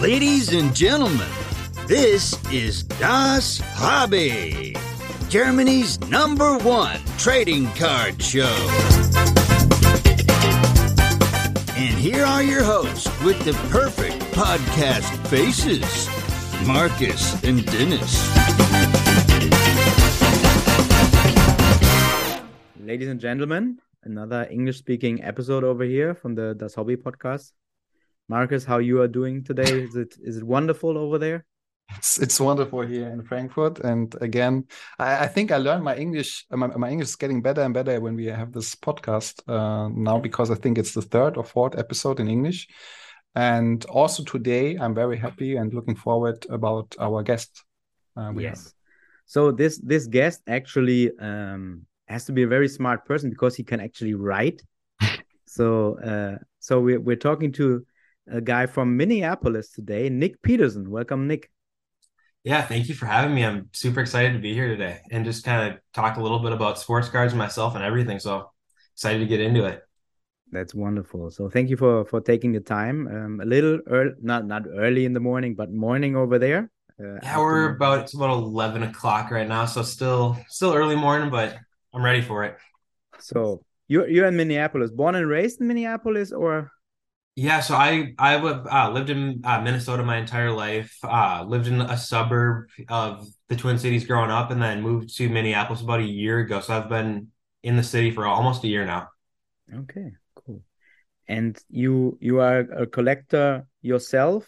Ladies and gentlemen, this is Das Hobby, Germany's #1 trading card show. And here are your hosts with the perfect podcast faces, Marcus and Dennis. Ladies and gentlemen, another English-speaking episode over here from the Das Hobby podcast. Marcus, how you are doing today? Is it wonderful over there? It's wonderful here in Frankfurt, and again, I think I learned my English. My English is getting better and better when we have this podcast now, because I think it's the 3rd or 4th episode in English. And also today, I'm very happy and looking forward about our guest. Yes. So this guest actually has to be a very smart person because he can actually write. So we're talking to a guy from Minneapolis today, Nick Peterson. Welcome, Nick. Yeah, thank you for having me. I'm super excited to be here today and just kind of talk a little bit about sports cards myself and everything. So excited to get into it. That's wonderful. So thank you for taking the time. A little early, not early in the morning, but morning over there. Yeah, it's about 11 o'clock right now. So still early morning, but I'm ready for it. So you're in Minneapolis, born and raised in Minneapolis, or? Yeah, so I lived in Minnesota my entire life. Lived in a suburb of the Twin Cities growing up, and then moved to Minneapolis about a year ago. So I've been in the city for almost a year now. Okay, cool. And you are a collector yourself.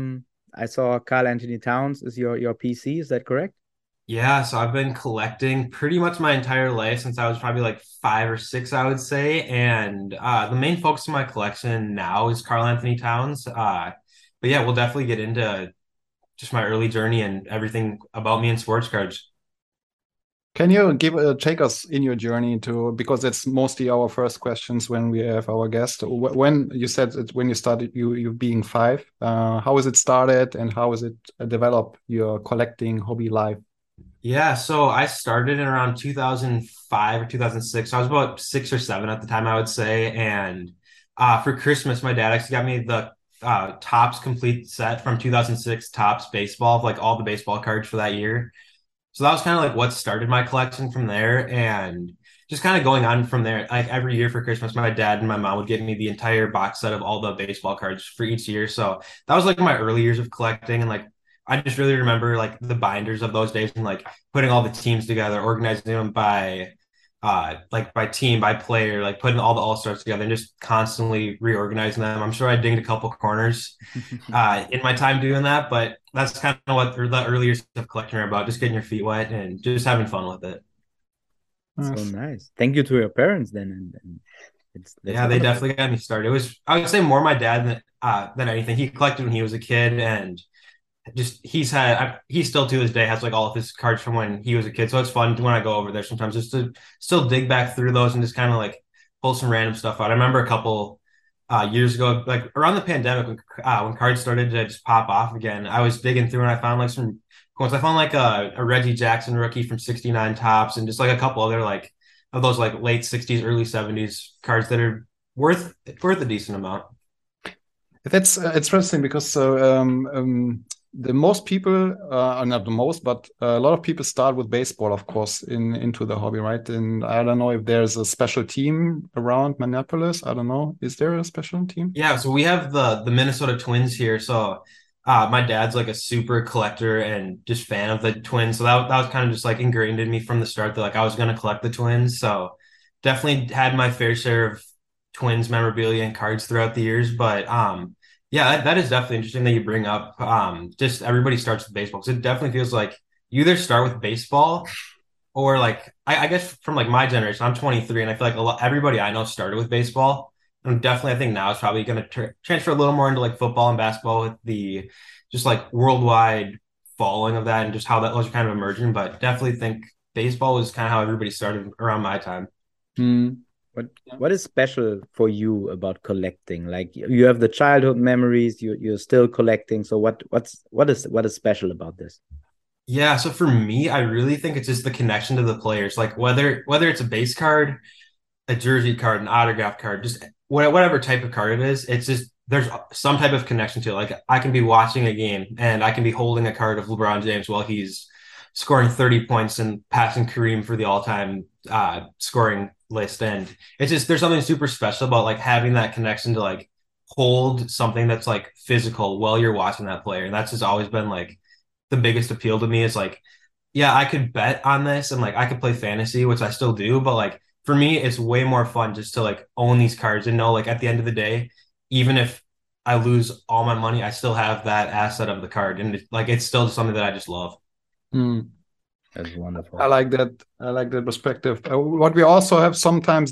I saw Karl-Anthony Towns is your PC. Is that correct? Yeah, so I've been collecting pretty much my entire life since I was probably like 5 or 6, I would say. And the main focus of my collection now is Karl-Anthony Towns. But yeah, we'll definitely get into just my early journey and everything about me in sports cards. Can you take us in your journey because that's mostly our first questions when we have our guest. When you said it, when you started, you being 5, how was it started and how was it developed your collecting hobby life? Yeah, so I started in around 2005 or 2006. I was about 6 or 7 at the time, I would say. And for Christmas, my dad actually got me the Topps complete set from 2006 Topps baseball, of like all the baseball cards for that year. So that was kind of like what started my collection from there. And just kind of going on from there, like every year for Christmas, my dad and my mom would give me the entire box set of all the baseball cards for each year. So that was like my early years of collecting, and like I just really remember like the binders of those days and like putting all the teams together, organizing them by by team, by player, like putting all the all-stars together and just constantly reorganizing them. I'm sure I dinged a couple corners in my time doing that, but that's kind of what the early years of collecting are about, just getting your feet wet and just having fun with it. So nice. Thank you to your parents then. Yeah, they definitely got me started. It was, I would say, more my dad than anything. He collected when he was a kid, and just he still to this day has like all of his cards from when he was a kid. So it's fun when I go over there sometimes just to still dig back through those and just kind of like pull some random stuff out. I remember a couple years ago, like around the pandemic, when cards started to just pop off again, I was digging through and I found like some coins. I found like a Reggie Jackson rookie from 69 Topps and just like a couple other like of those like late 60s, early 70s cards that are worth a decent amount. That's interesting because the most people, not the most, but a lot of people start with baseball, of course, into the hobby, right? And I don't know if there's a special team around Minneapolis. I don't know. Is there a special team? Yeah, so we have the Minnesota Twins here. So my dad's like a super collector and just fan of the Twins. So that was kind of just like ingrained in me from the start that like I was going to collect the Twins. So definitely had my fair share of Twins memorabilia and cards throughout the years. But yeah, that is definitely interesting that you bring up. Just everybody starts with baseball because it definitely feels like you either start with baseball or like I guess from like my generation, I'm 23, and I feel like everybody I know started with baseball. And definitely, I think now it's probably going to transfer a little more into like football and basketball with the just like worldwide following of that and just how that was kind of emerging. But definitely think baseball was kind of how everybody started around my time. What is special for you about collecting? Like you have the childhood memories, you're still collecting. So what is special about this? Yeah, so for me, I really think it's just the connection to the players. Like whether it's a base card, a jersey card, an autograph card, just whatever type of card it is, it's just there's some type of connection to it. Like I can be watching a game and I can be holding a card of LeBron James while he's scoring 30 points and passing Kareem for the all-time scoring list. And it's just, there's something super special about like having that connection to like hold something that's like physical while you're watching that player. And that's just always been like the biggest appeal to me is like, yeah, I could bet on this and like I could play fantasy, which I still do, but like for me, it's way more fun just to like own these cards and know like at the end of the day, even if I lose all my money, I still have that asset of the card. And like it's still something that I just love. Mm. That's wonderful. I like that. I like that perspective. What we also have sometimes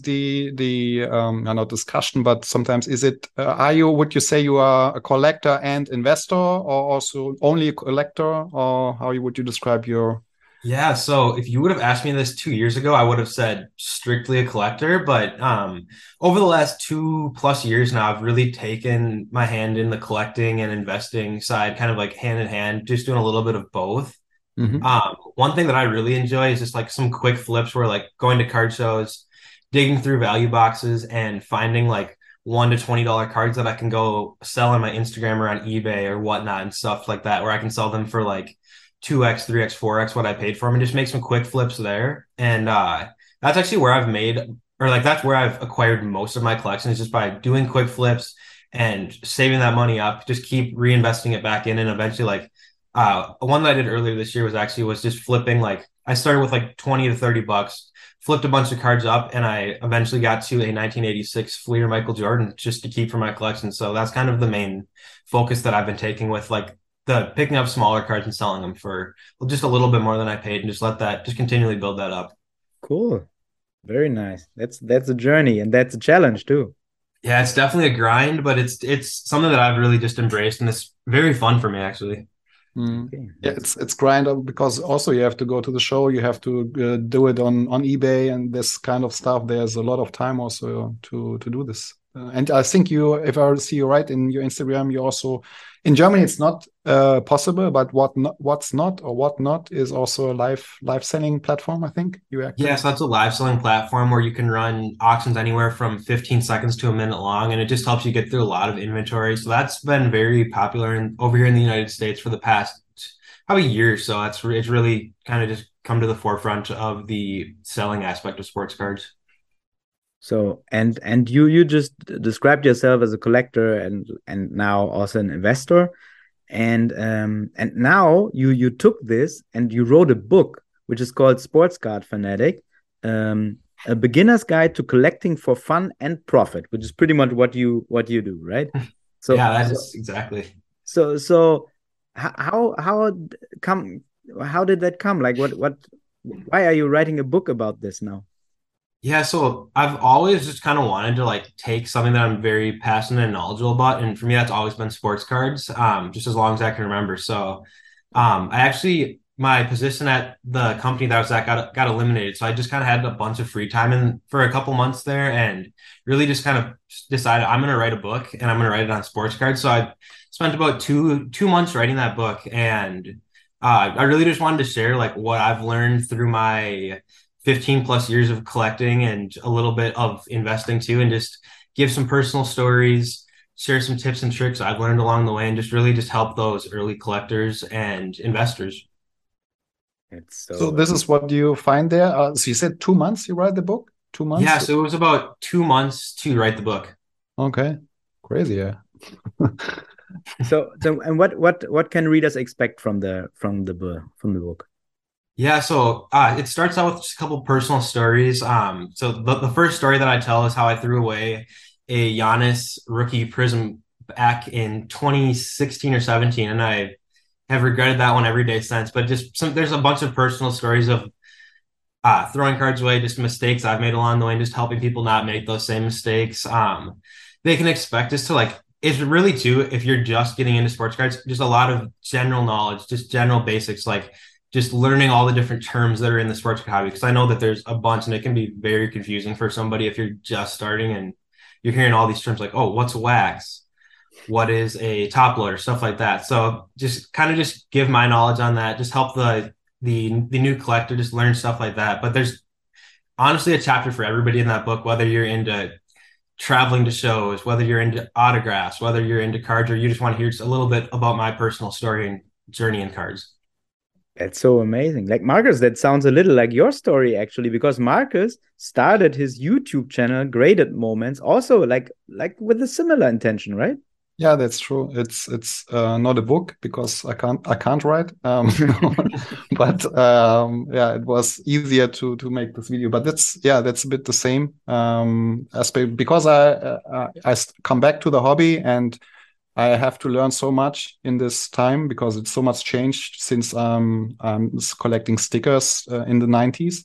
not discussion, but sometimes is it? Would you say you are a collector and investor, or also only a collector, or how would you describe your? Yeah, so if you would have asked me this 2 years ago, I would have said strictly a collector. But over the last 2+ years now, I've really taken my hand in the collecting and investing side, kind of like hand in hand, just doing a little bit of both. Mm-hmm. One thing that I really enjoy is just like some quick flips where like going to card shows, digging through value boxes and finding like $1 to $20 cards that I can go sell on my Instagram or on eBay or whatnot and stuff like that, where I can sell them for like 2x, 3x, 4x what I paid for them and just make some quick flips there. And that's actually where I've made, or like that's where I've acquired most of my collection is just by doing quick flips and saving that money up, just keep reinvesting it back in and eventually like one that I did earlier this year was just flipping. Like I started with like 20 to 30 bucks, flipped a bunch of cards up, and I eventually got to a 1986 Fleer Michael Jordan just to keep for my collection. So that's kind of the main focus that I've been taking with like the picking up smaller cards and selling them for just a little bit more than I paid and just continually build that up. Cool. Very nice. That's a journey and that's a challenge too. Yeah, it's definitely a grind, but it's something that I've really just embraced and it's very fun for me actually. Okay. Yeah, it's grind because also you have to go to the show, you have to do it on eBay and this kind of stuff. There's a lot of time also to do this. And I think if I see you right in your Instagram, you also in Germany it's not possible, but what's not is also a live selling platform. I think you actually. Yeah, so that's a live selling platform where you can run auctions anywhere from 15 seconds to a minute long, and it just helps you get through a lot of inventory. So that's been very popular over here in the United States for the past probably year or so. It's really kind of just come to the forefront of the selling aspect of sports cards. So and you just described yourself as a collector and now also an investor, and now you took this and you wrote a book which is called Sports Card Fanatic, a beginner's guide to collecting for fun and profit, which is pretty much what you do, right? So yeah, that is exactly. So how did that come? Like why are you writing a book about this now? Yeah, so I've always just kind of wanted to like take something that I'm very passionate and knowledgeable about, and for me that's always been sports cards, just as long as I can remember. So my position at the company that I was at got eliminated, so I just kind of had a bunch of free time for a couple months there, and really just kind of decided I'm going to write a book and I'm going to write it on sports cards. So I spent about two months writing that book, and I really just wanted to share like what I've learned through my 15+ years of collecting and a little bit of investing too, and just give some personal stories, share some tips and tricks I've learned along the way, and just really just help those early collectors and investors. So this is what you find there. So you said 2 months you write the book? 2 months? Yeah, so it was about 2 months to write the book. Okay, crazy, yeah. So and what can readers expect from the book? Yeah, so it starts out with just a couple personal stories. So the first story that I tell is how I threw away a Giannis rookie prism back in 2016 or 17, and I have regretted that one every day since. But there's a bunch of personal stories of throwing cards away, just mistakes I've made along the way, and just helping people not make those same mistakes. They can expect us to like. It's really too, if you're just getting into sports cards, just a lot of general knowledge, just general basics like. Just learning all the different terms that are in the sports card hobby, because I know that there's a bunch and it can be very confusing for somebody if you're just starting and you're hearing all these terms like, oh, what's wax? What is a top loader? Stuff like that. So just give my knowledge on that, just help the new collector just learn stuff like that. But there's honestly a chapter for everybody in that book, whether you're into traveling to shows, whether you're into autographs, whether you're into cards, or you just want to hear just a little bit about my personal story and journey in cards. That's so amazing. Like Marcus, that sounds a little like your story actually, because Marcus started his YouTube channel, Graded Moments, also like with a similar intention, right? Yeah, that's true. It's not a book because I can't write. But yeah, it was easier to make this video. But that's a bit the same aspect because I come back to the hobby and I have to learn so much in this time because it's so much changed since I'm collecting stickers in the 90s.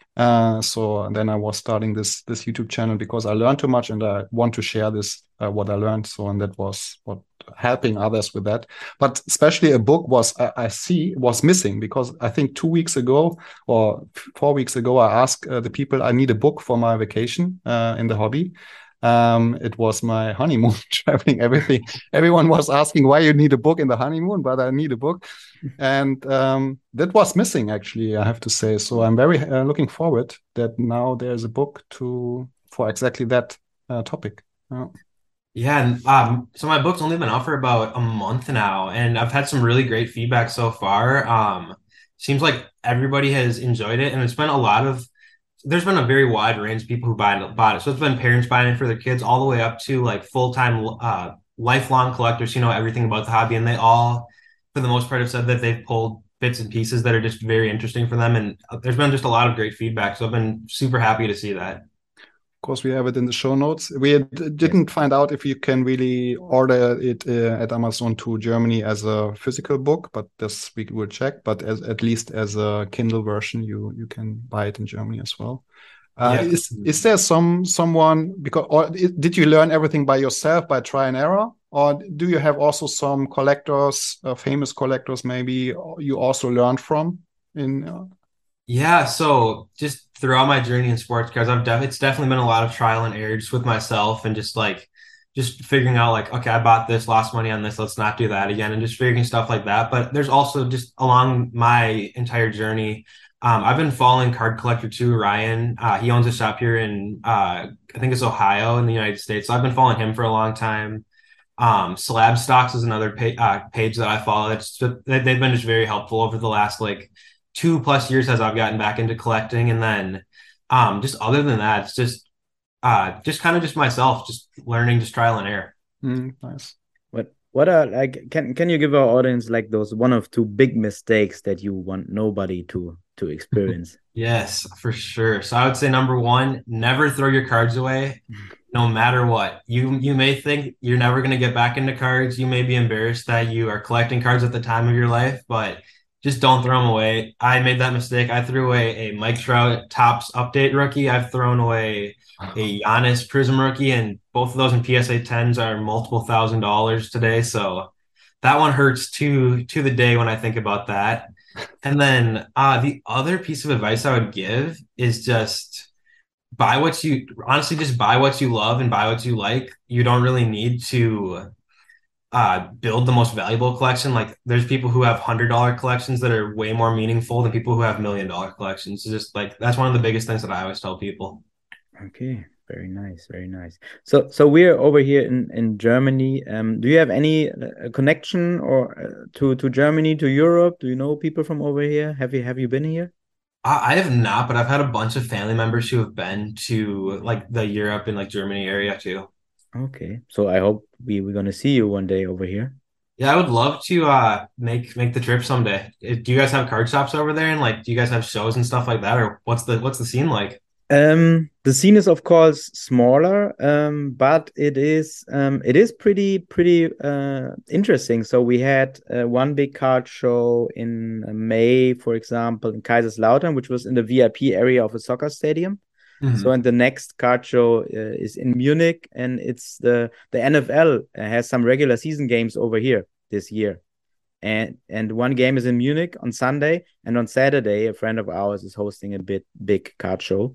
So then I was starting this YouTube channel because I learned too much and I want to share this what I learned. So and that was what helping others with that. But especially a book was missing because I think 2 weeks ago or 4 weeks ago I asked the people I need a book for my vacation in the hobby. It was my honeymoon traveling everything. Everyone was asking why you need a book in the honeymoon, but I need a book. And that was missing, actually, I have to say. So I'm very looking forward that now there's a book for exactly that topic. Yeah, and so my book's only been out for about a month now, and I've had some really great feedback so far. Seems like everybody has enjoyed it, and there's been a very wide range of people who bought it. So it's been parents buying it for their kids, all the way up to like full-time lifelong collectors who know everything about the hobby, and they all, for the most part, have said that they've pulled bits and pieces that are just very interesting for them. And there's been just a lot of great feedback, so I've been super happy to see that. Of course, we have it in the show notes. We didn't find out if you can really order it at Amazon to Germany as a physical book, but this we will check. But at least as a Kindle version, you can buy it in Germany as well. Yeah. Is there someone did you learn everything by yourself by try and error, or do you have also some collectors, famous collectors maybe you also learned from in? Yeah, so just throughout my journey in sports cards, it's definitely been a lot of trial and error just with myself and just figuring out like, okay, I bought this, lost money on this, let's not do that again, and just figuring stuff like that. But there's also just along my entire journey, I've been following Card Collector 2, Ryan. He owns a shop here in I think it's Ohio in the United States. So I've been following him for a long time. Slab Stocks is another page that I follow. They've been just very helpful over the last like 2+ years as I've gotten back into collecting. And then just other than that, it's just kind of just myself, just learning, just trial and error. Nice. What are like can you give our audience like those 1 or 2 big mistakes that you want nobody to experience? Yes, for sure. So I would say number 1, never throw your cards away, no matter what. You may think you're never going to get back into cards. You may be embarrassed that you are collecting cards at the time of your life, but just don't throw them away. I made that mistake. I threw away a Mike Trout Topps Update rookie. I've thrown away a Giannis Prism rookie, and both of those in PSA 10s are multiple $1,000s today. So that one hurts to the day when I think about that. And then the other piece of advice I would give is just buy what you love and buy what you like. You don't really need to build the most valuable collection. Like there's people who have $100 collections that are way more meaningful than people who have $1 million collections. So just like that's one of the biggest things that I always tell people. Okay, very nice, very nice. So we're over here in Germany. Do you have any connection or to Germany, to Europe? Do you know people from over here? Have you been here? I have not, but I've had a bunch of family members who have been to like the Europe and like Germany area too. Okay, so I hope we're gonna see you one day over here. Yeah, I would love to make the trip someday. Do you guys have card shops over there, and like do you guys have shows and stuff like that, or what's the scene like? The scene is of course smaller, but it is pretty interesting. So we had one big card show in May, for example, in Kaiserslautern, which was in the VIP area of a soccer stadium. So, and the next card show is in Munich, and it's the NFL has some regular season games over here this year, and one game is in Munich on Sunday, and on Saturday a friend of ours is hosting a big card show.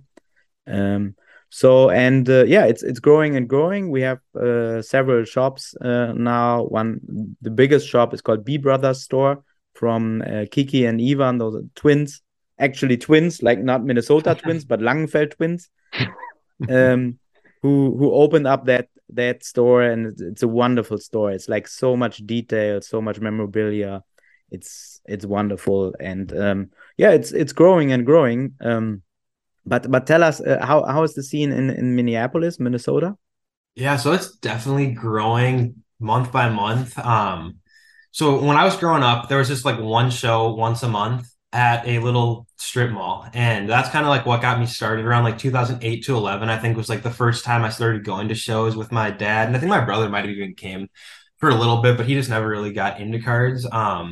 So and yeah, it's growing and growing. We have several shops now. The biggest shop is called B Brothers Store from Kiki and Ivan. Those are twins. Actually twins, like not Minnesota twins, but Langenfeld twins, who who opened up that store, and it's a wonderful store. It's like so much detail, so much memorabilia. It's wonderful, and yeah, it's growing and growing. But tell us, how is the scene in Minneapolis, Minnesota? Yeah, so it's definitely growing month by month. So when I was growing up, there was just like one show once a month at a little strip mall. And that's kind of like what got me started around like 2008 to 11, I think was like the first time I started going to shows with my dad. And I think my brother might have even came for a little bit, but he just never really got into cards.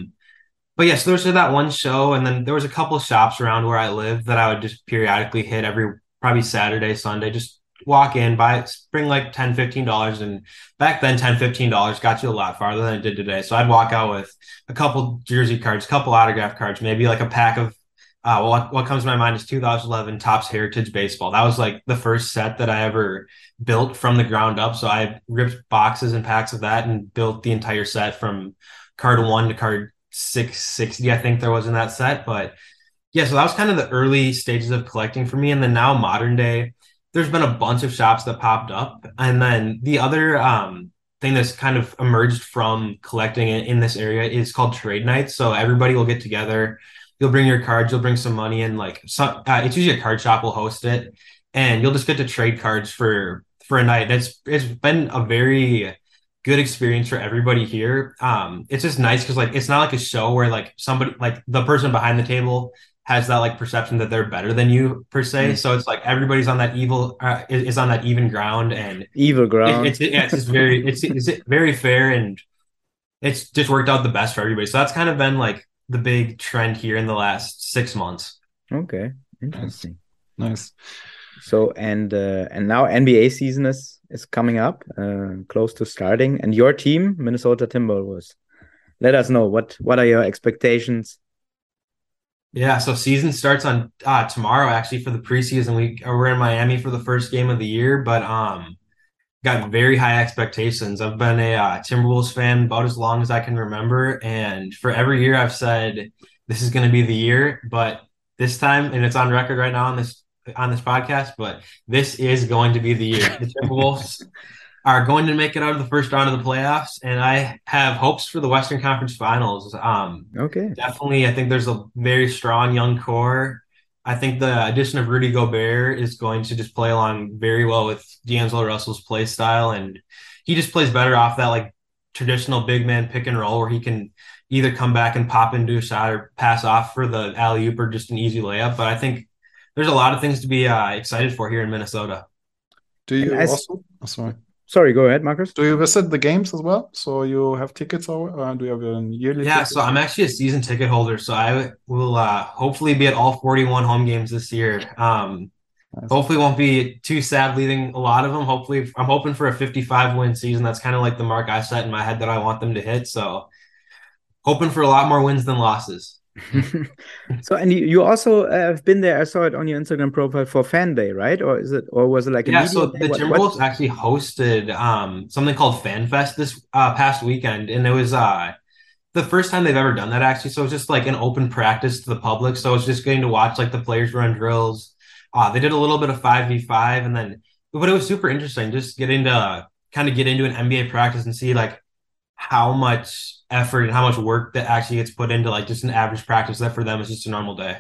But yes, there was that one show, and then there was a couple of shops around where I lived that I would just periodically hit every probably Saturday, Sunday, just walk in, bring like $10-15. And back then $10-15 got you a lot farther than it did today. So I'd walk out with a couple jersey cards, a couple autograph cards, maybe like a pack of what comes to my mind is 2011 Topps Heritage Baseball. That was like the first set that I ever built from the ground up. So I ripped boxes and packs of that and built the entire set from card 1 to card 660, I think there was in that set. But yeah, so that was kind of the early stages of collecting for me. And then now modern day, there's been a bunch of shops that popped up. And then the other thing that's kind of emerged from collecting in this area is called trade nights. So everybody will get together. You'll bring your cards, you'll bring some money, and like it's usually a card shop will host it, and you'll just get to trade cards for a night. It's been a very good experience for everybody here. It's just nice because like it's not like a show where like somebody like the person behind the table has that like perception that they're better than you per se. So it's like everybody's on that is on that even ground, and Evil ground. It's just very it's very fair, and it's just worked out the best for everybody. So that's kind of been like the big trend here in the last 6 months. Okay, interesting. Nice. So and now NBA season is coming up, close to starting, and your team, Minnesota Timberwolves. Let us know what are your expectations. Yeah, so season starts on tomorrow actually for the preseason. We're in Miami for the first game of the year, but got very high expectations. I've been a Timberwolves fan about as long as I can remember, and for every year I've said this is going to be the year, but this time, and it's on record right now on this podcast, but this is going to be the year. The Timberwolves are going to make it out of the first round of the playoffs, and I have hopes for the Western Conference Finals. Okay. Definitely, I think there's a very strong young core. I think the addition of Rudy Gobert is going to just play along very well with D'Angelo Russell's play style, and he just plays better off that like traditional big man pick and roll where he can either come back and pop into a shot or pass off for the alley-oop or just an easy layup. But I think there's a lot of things to be excited for here in Minnesota. Do you also? Oh, sorry. Sorry, go ahead, Marcus. Do you visit the games as well? So you have tickets, or do you have a yearly? Yeah, ticket? so I'm actually a season ticket holder, so I will hopefully be at all 41 home games this year. Nice. Hopefully won't be too sad leaving a lot of them. Hopefully, I'm hoping for a 55 win season. That's kind of like the mark I set in my head that I want them to hit. So hoping for a lot more wins than losses. So, and you also have been there. I saw it on your Instagram profile for Fan Day, right? Or was it like a media so day? the Timberwolves actually hosted something called Fan Fest this past weekend, and it was the first time they've ever done that actually. So it's just like an open practice to the public. So it's just getting to watch like the players run drills. They did a little bit of 5v5, and then but it was super interesting just getting to kind of get into an NBA practice and see like how much effort and how much work that actually gets put into like just an average practice that for them is just a normal day.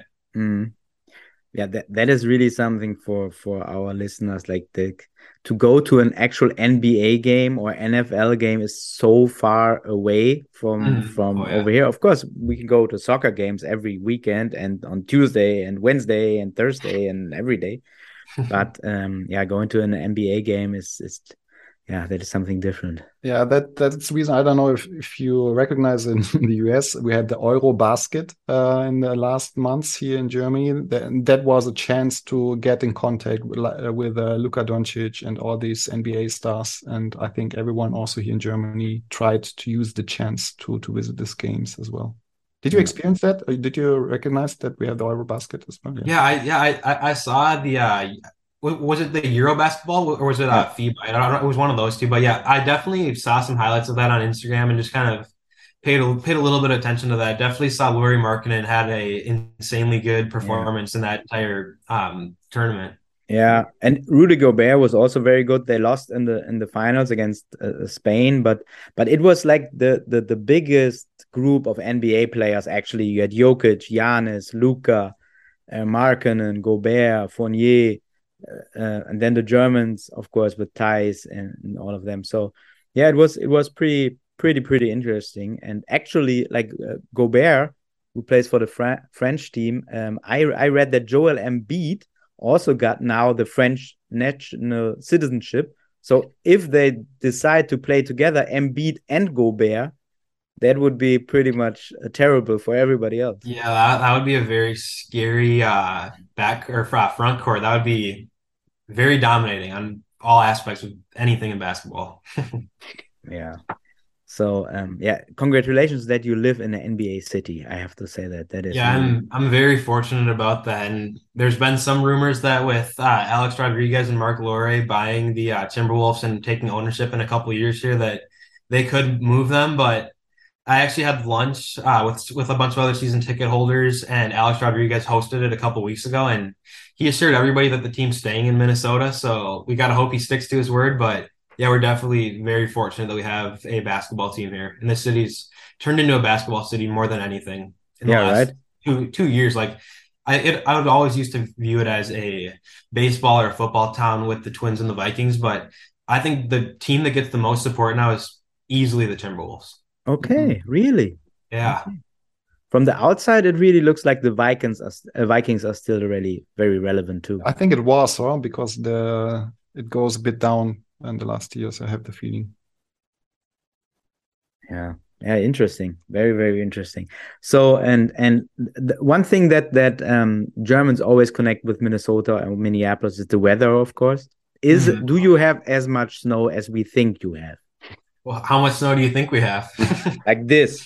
Yeah, that is really something for our listeners. Like to go to an actual NBA game or NFL game is so far away from over here. Of course, we can go to soccer games every weekend and on Tuesday and Wednesday and Thursday and every day. But going to an NBA game is that is something different. Yeah, that's the reason. I don't know if you recognize in the US, we had the Eurobasket in the last months here in Germany. That was a chance to get in contact with Luka Doncic and all these NBA stars. And I think everyone also here in Germany tried to use the chance to visit these games as well. Did you experience that? Or did you recognize that we have the Eurobasket as well? I saw the was it the Eurobasketball or was it FIBA? I don't know. It was one of those two. But yeah, I definitely saw some highlights of that on Instagram and just kind of paid a little bit of attention to that. Definitely saw Lauri Markkanen had a insanely good performance in that entire tournament. Yeah, and Rudy Gobert was also very good. They lost in the finals against Spain, but it was like the biggest group of NBA players. Actually, you had Jokic, Giannis, Luka, Markkanen, Gobert, Fournier, and then the Germans, of course, with Thais and all of them. So yeah, it was pretty interesting. And actually, like Gobert, who plays for the French team, I read that Joel Embiid also got now the French national citizenship. So if they decide to play together, Embiid and Gobert, that would be pretty much terrible for everybody else. Yeah, that would be a very scary back or front court. That would be very dominating on all aspects of anything in basketball. Yeah. So yeah, congratulations that you live in an NBA city. I have to say that is Yeah, really... I'm very fortunate about that. And there's been some rumors that with Alex Rodriguez and Mark Lore buying the Timberwolves and taking ownership in a couple years here, that they could move them. But I actually had lunch with a bunch of other season ticket holders, and Alex Rodriguez hosted it a couple weeks ago, and he assured everybody that the team's staying in Minnesota. So we gotta hope he sticks to his word. But yeah, we're definitely very fortunate that we have a basketball team here, and this city's turned into a basketball city more than anything in the Yeah, last right. two years. Like I would always used to view it as a baseball or a football town with the Twins and the Vikings, but I think the team that gets the most support now is easily the Timberwolves. Okay, really? Yeah. Okay. From the outside, it really looks like the Vikings are still really very relevant too. I think it was, huh? Because it goes a bit down in the last years. I have the feeling. Yeah. Yeah, interesting. Very, very interesting. So, and one thing that Germans always connect with Minnesota and Minneapolis is the weather, of course. Do you have as much snow as we think you have? Well, how much snow do you think we have? Like this?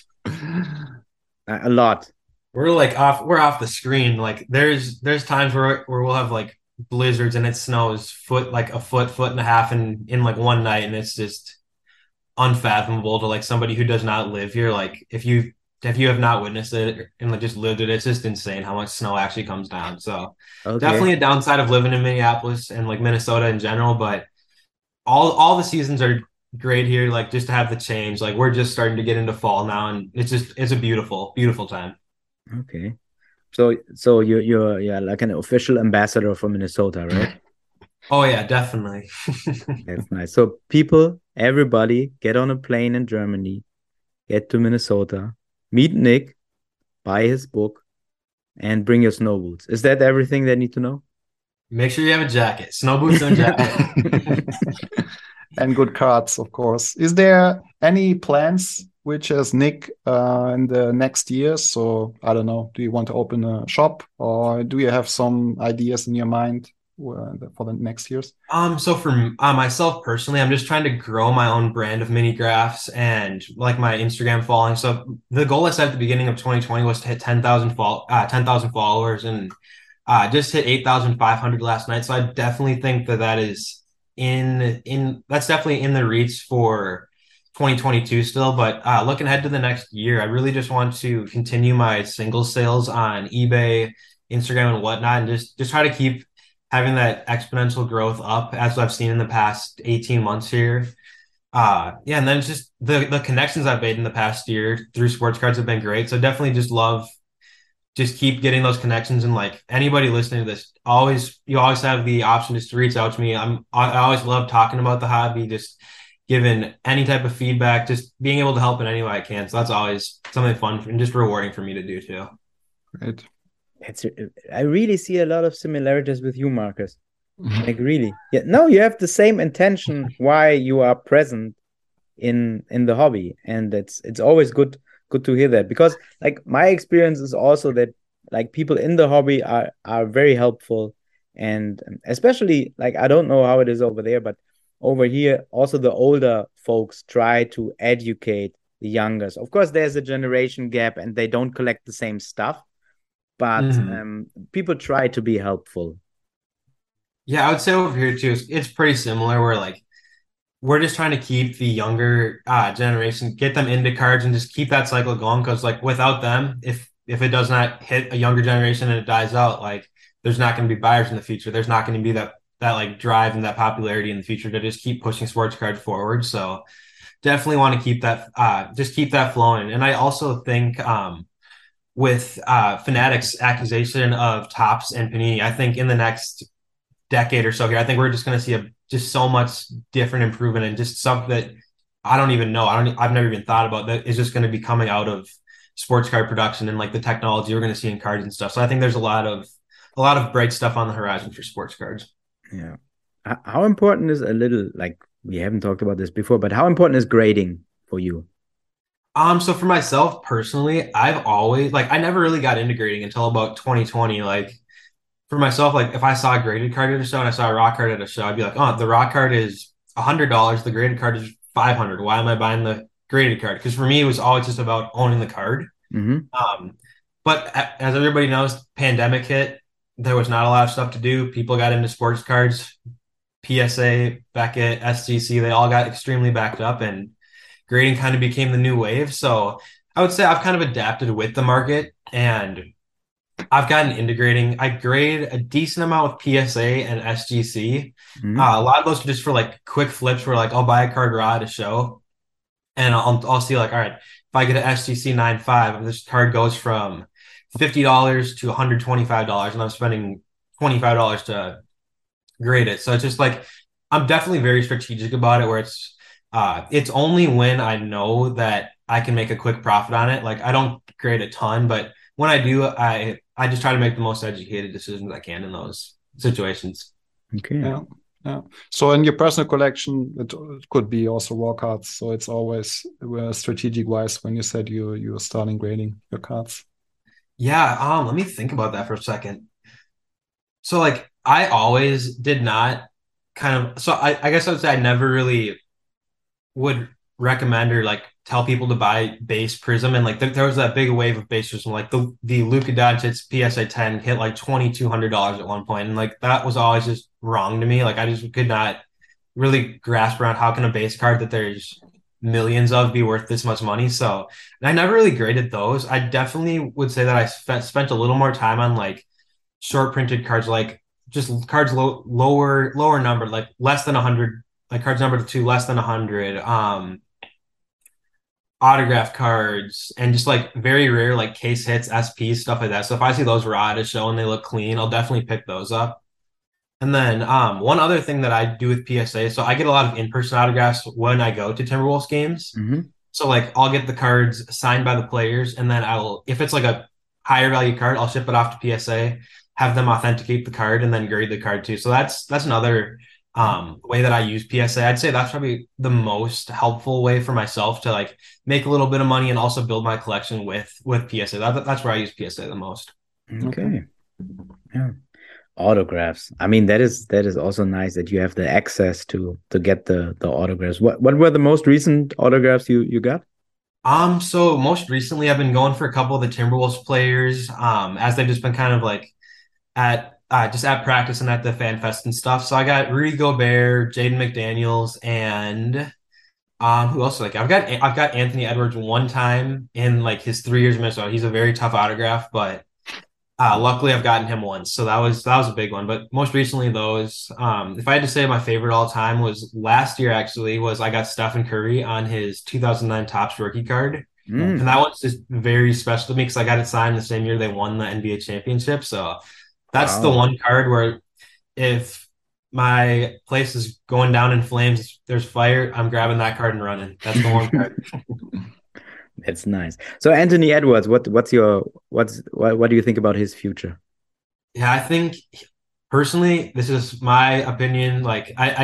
A lot. We're off the screen. Like there's times where we'll have like blizzards and it snows like a foot and a half in like one night, and it's just unfathomable to like somebody who does not live here. Like if you have not witnessed it and like just lived it, it's just insane how much snow actually comes down. So definitely a downside of living in Minneapolis and like Minnesota in general, but all the seasons are great here. Like just to have the change, like we're just starting to get into fall now, and it's a beautiful time. Okay. So you're like an official ambassador for Minnesota, right? Oh yeah, definitely. That's nice. So people, everybody, get on a plane in Germany, get to Minnesota, meet Nick, buy his book, and bring your snow boots. Is that everything they need to know? Make sure you have a jacket, snow boots and a jacket. And good cards, of course. Is there any plans which is Nick in the next years? So I don't know. Do you want to open a shop, or do you have some ideas in your mind for the next years? So for myself personally, I'm just trying to grow my own brand of mini graphs and like my Instagram following. So the goal I set at the beginning of 2020 was to hit 10,000 followers, and just hit 8,500 last night. So I definitely think that is that's definitely in the reach for 2022 still. But looking ahead to the next year, I really just want to continue my single sales on eBay, Instagram, and whatnot, and just try to keep having that exponential growth up as I've seen in the past 18 months here. Yeah, and then just the connections I've made in the past year through sports cards have been great. So definitely just keep getting those connections, and like anybody listening to this, you always have the option just to reach out to me. I always love talking about the hobby, just giving any type of feedback, just being able to help in any way I can. So that's always something fun and just rewarding for me to do too. Great. I really see a lot of similarities with you, Marcus. Like really. Yeah. No, you have the same intention why you are present in the hobby. And it's always good to hear that, because like my experience is also that like people in the hobby are very helpful, and especially like I don't know how it is over there, but over here also the older folks try to educate the youngers. Of course there's a generation gap and they don't collect the same stuff, but people try to be helpful. Yeah, I would say over here too, it's pretty similar where like we're just trying to keep the younger generation, get them into cards and just keep that cycle going. Because like without them, if it does not hit a younger generation and it dies out, like there's not going to be buyers in the future. There's not going to be that like drive and that popularity in the future to just keep pushing sports cards forward. So definitely want to keep that, just keep that flowing. And I also think with Fanatics' accusation of Topps and Panini, I think in the next decade or so here, I think we're just going to see just so much different improvement and just something that I don't even know. I've never even thought about that is just going to be coming out of sports card production and like the technology we're going to see in cards and stuff. So I think there's a lot of bright stuff on the horizon for sports cards. Yeah. How important is like we haven't talked about this before, but how important is grading for you? So for myself personally, I've always I never really got into grading until about 2020. Like for myself, like if I saw a graded card at a show and I saw a raw card at a show, I'd be like, oh, the raw card is $100. The graded card is $500. Why am I buying the graded card? Because for me, it was always just about owning the card. Mm-hmm. But as everybody knows, pandemic hit. There was not a lot of stuff to do. People got into sports cards. PSA, Beckett, SGC, they all got extremely backed up, and grading kind of became the new wave. So I would say I've kind of adapted with the market, and I've gotten into grading. I grade a decent amount with PSA and SGC. Mm-hmm. A lot of those are just for like quick flips where like I'll buy a card raw at a show, and I'll see like, all right, if I get an SGC 9.5, this card goes from $50 to $125, and I'm spending $25 to grade it. So it's just like I'm definitely very strategic about it, where it's only when I know that I can make a quick profit on it. Like I don't grade a ton, but when I do, I just try to make the most educated decisions I can in those situations. Okay. Yeah. So in your personal collection, it could be also raw cards. So it's always strategic wise when you said you're starting grading your cards. Yeah. Let me think about that for a second. So like I always did not I guess I would say I never really would recommend or like tell people to buy base Prism, and like there was that big wave of base Prism, like the Luka Doncic PSA 10 hit like $2,200 at one point, and like that was always just wrong to me. Like I just could not really grasp around how can a base card that there's millions of be worth this much money. So I never really graded those. I definitely would say that I spent a little more time on like short printed cards, like just cards lower number, like less than 100, like cards numbered to less than 100, autograph cards, and just like very rare like case hits, SPs, stuff like that. So if I see those raw at a show and they look clean, I'll definitely pick those up. And then one other thing that I do with PSA, so I get a lot of in-person autographs when I go to Timberwolves games. Mm-hmm. So like I'll get the cards signed by the players, and then if it's like a higher value card, I'll ship it off to PSA, have them authenticate the card, and then grade the card too. So that's another way that I use PSA. I'd say that's probably the most helpful way for myself to like make a little bit of money and also build my collection with PSA. That's where I use PSA the most. Okay. Yeah. Autographs. I mean, that is also nice that you have the access to get the autographs. What were the most recent autographs you got? So most recently I've been going for a couple of the Timberwolves players, as they've just been kind of like at practice and at the Fan Fest and stuff. So I got Rudy Gobert, Jaden McDaniels, and who else? Like I've got Anthony Edwards one time in like his 3 years in Minnesota. He's a very tough autograph, but luckily I've gotten him once. So that was a big one. But most recently those, if I had to say my favorite all time was last year actually, was I got Stephen Curry on his 2009 Topps rookie card. And that one's just very special to me because I got it signed the same year they won the NBA championship. So that's the one card where if my place is going down in flames, there's fire, I'm grabbing that card and running. That's the one card. That's nice. So Anthony Edwards, what do you think about his future? Yeah, I think personally, this is my opinion. Like I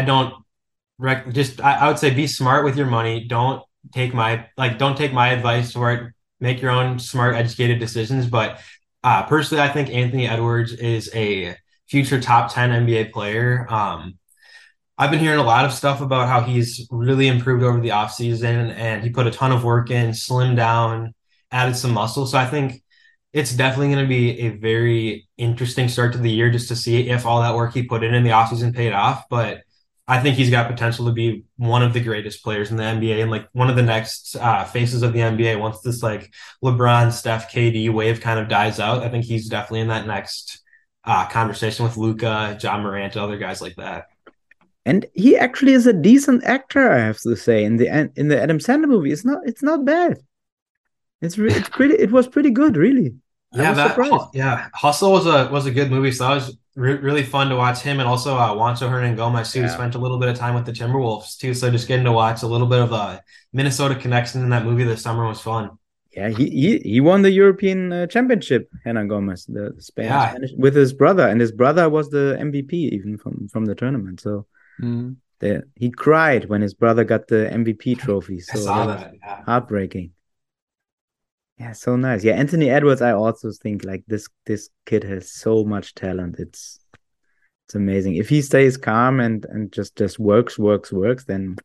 would say be smart with your money. Don't take my advice for it. Make your own smart, educated decisions. But personally, I think Anthony Edwards is a future top 10 NBA player. I've been hearing a lot of stuff about how he's really improved over the offseason, and he put a ton of work in, slimmed down, added some muscle. So I think it's definitely going to be a very interesting start to the year just to see if all that work he put in the offseason paid off. But I think he's got potential to be one of the greatest players in the NBA and like one of the next faces of the NBA once this like LeBron, Steph, KD wave kind of dies out. I think he's definitely in that next conversation with Luka, John Morant, other guys like that. And he actually is a decent actor, I have to say. In the Adam Sandler movie, it's not bad. It's pretty. It was pretty good, really. I was surprised. Hustle was a good movie. So that was really fun to watch him, and also Juancho Hernangomez too. He spent a little bit of time with the Timberwolves too, so just getting to watch a little bit of a Minnesota connection in that movie this summer was fun. Yeah, he won the European Championship, Hernangomez, the Spanish, with his brother, and his brother was the MVP even from the tournament. So he cried when his brother got the MVP trophy. So I saw that. Yeah. Heartbreaking. Yeah, so nice. Yeah, Anthony Edwards, I also think like this kid has so much talent. It's amazing. If he stays calm and just works, then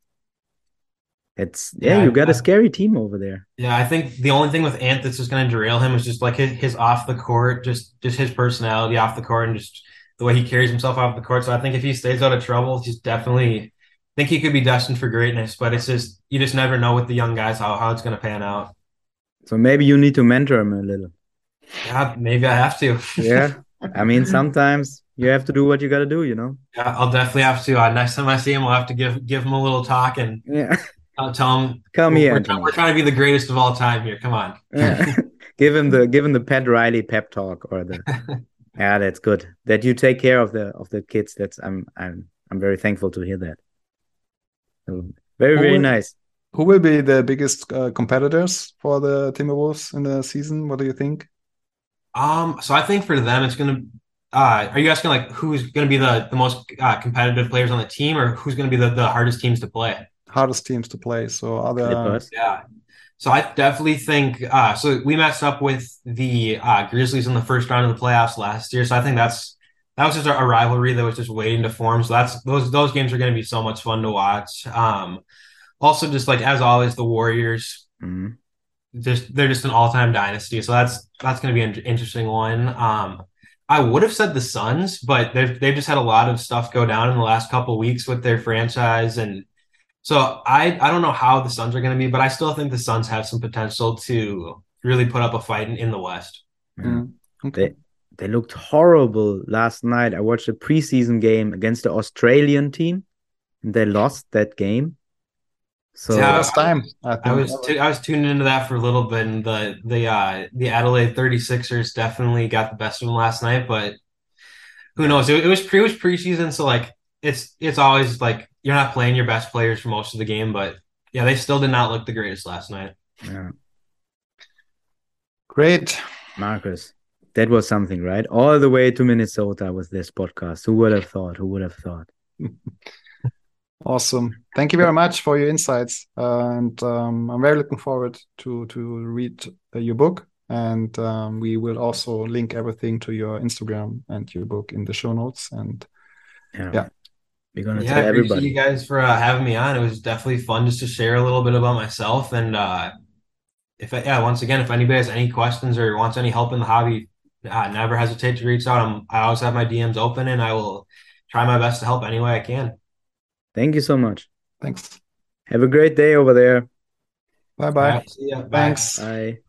you got a scary team over there. Yeah, I think the only thing with Ant that's just going to derail him is just like his off the court, just his personality off the court and just the way he carries himself off the court. So I think if he stays out of trouble, he's definitely think he could be destined for greatness. But it's just you just never know with the young guys how it's going to pan out. So maybe you need to mentor him a little. Yeah, maybe I have to. Yeah, I mean sometimes you have to do what you got to do, you know. Yeah, I'll definitely have to. Next time I see him, I'll have to give him a little talk and I'll tell him. Come here, we're trying to be the greatest of all time here. Come on. Yeah. give him the Pat Riley pep talk or the. Yeah, that's good. That you take care of the kids. That's I'm very thankful to hear that. So, very nice. Who will be the biggest competitors for the Timberwolves in the season? What do you think? So I think for them, it's going to. Are you asking like who's going to be the most competitive players on the team, or who's going to be the hardest teams to play? Hardest teams to play. So other. Yeah. So I definitely think. So we matched up with the Grizzlies in the first round of the playoffs last year. So I think that was just a rivalry that was just waiting to form. So those games are going to be so much fun to watch. Also, just like as always, the Warriors, they're just an all-time dynasty. So that's going to be an interesting one. I would have said the Suns, but they've just had a lot of stuff go down in the last couple of weeks with their franchise, and so I don't know how the Suns are going to be, but I still think the Suns have some potential to really put up a fight in the West. Yeah. Okay. They looked horrible last night. I watched a preseason game against the Australian team, and they lost that game. So last time I was tuning into that for a little bit, and the Adelaide 36ers definitely got the best of them last night. But who knows? It was preseason, so like it's always like you're not playing your best players for most of the game. But yeah, they still did not look the greatest last night. Yeah. Great, Marcus. That was something, right? All the way to Minnesota with this podcast. Who would have thought? Awesome. Thank you very much for your insights. And I'm very looking forward to read your book. And we will also link everything to your Instagram and your book in the show notes. And yeah. We're going to tell everybody. Thank you guys for having me on. It was definitely fun just to share a little bit about myself. And once again, if anybody has any questions or wants any help in the hobby, never hesitate to reach out. I always have my DMs open, and I will try my best to help any way I can. Thank you so much. Thanks. Have a great day over there. Bye-bye. Right, see ya. Thanks. Bye.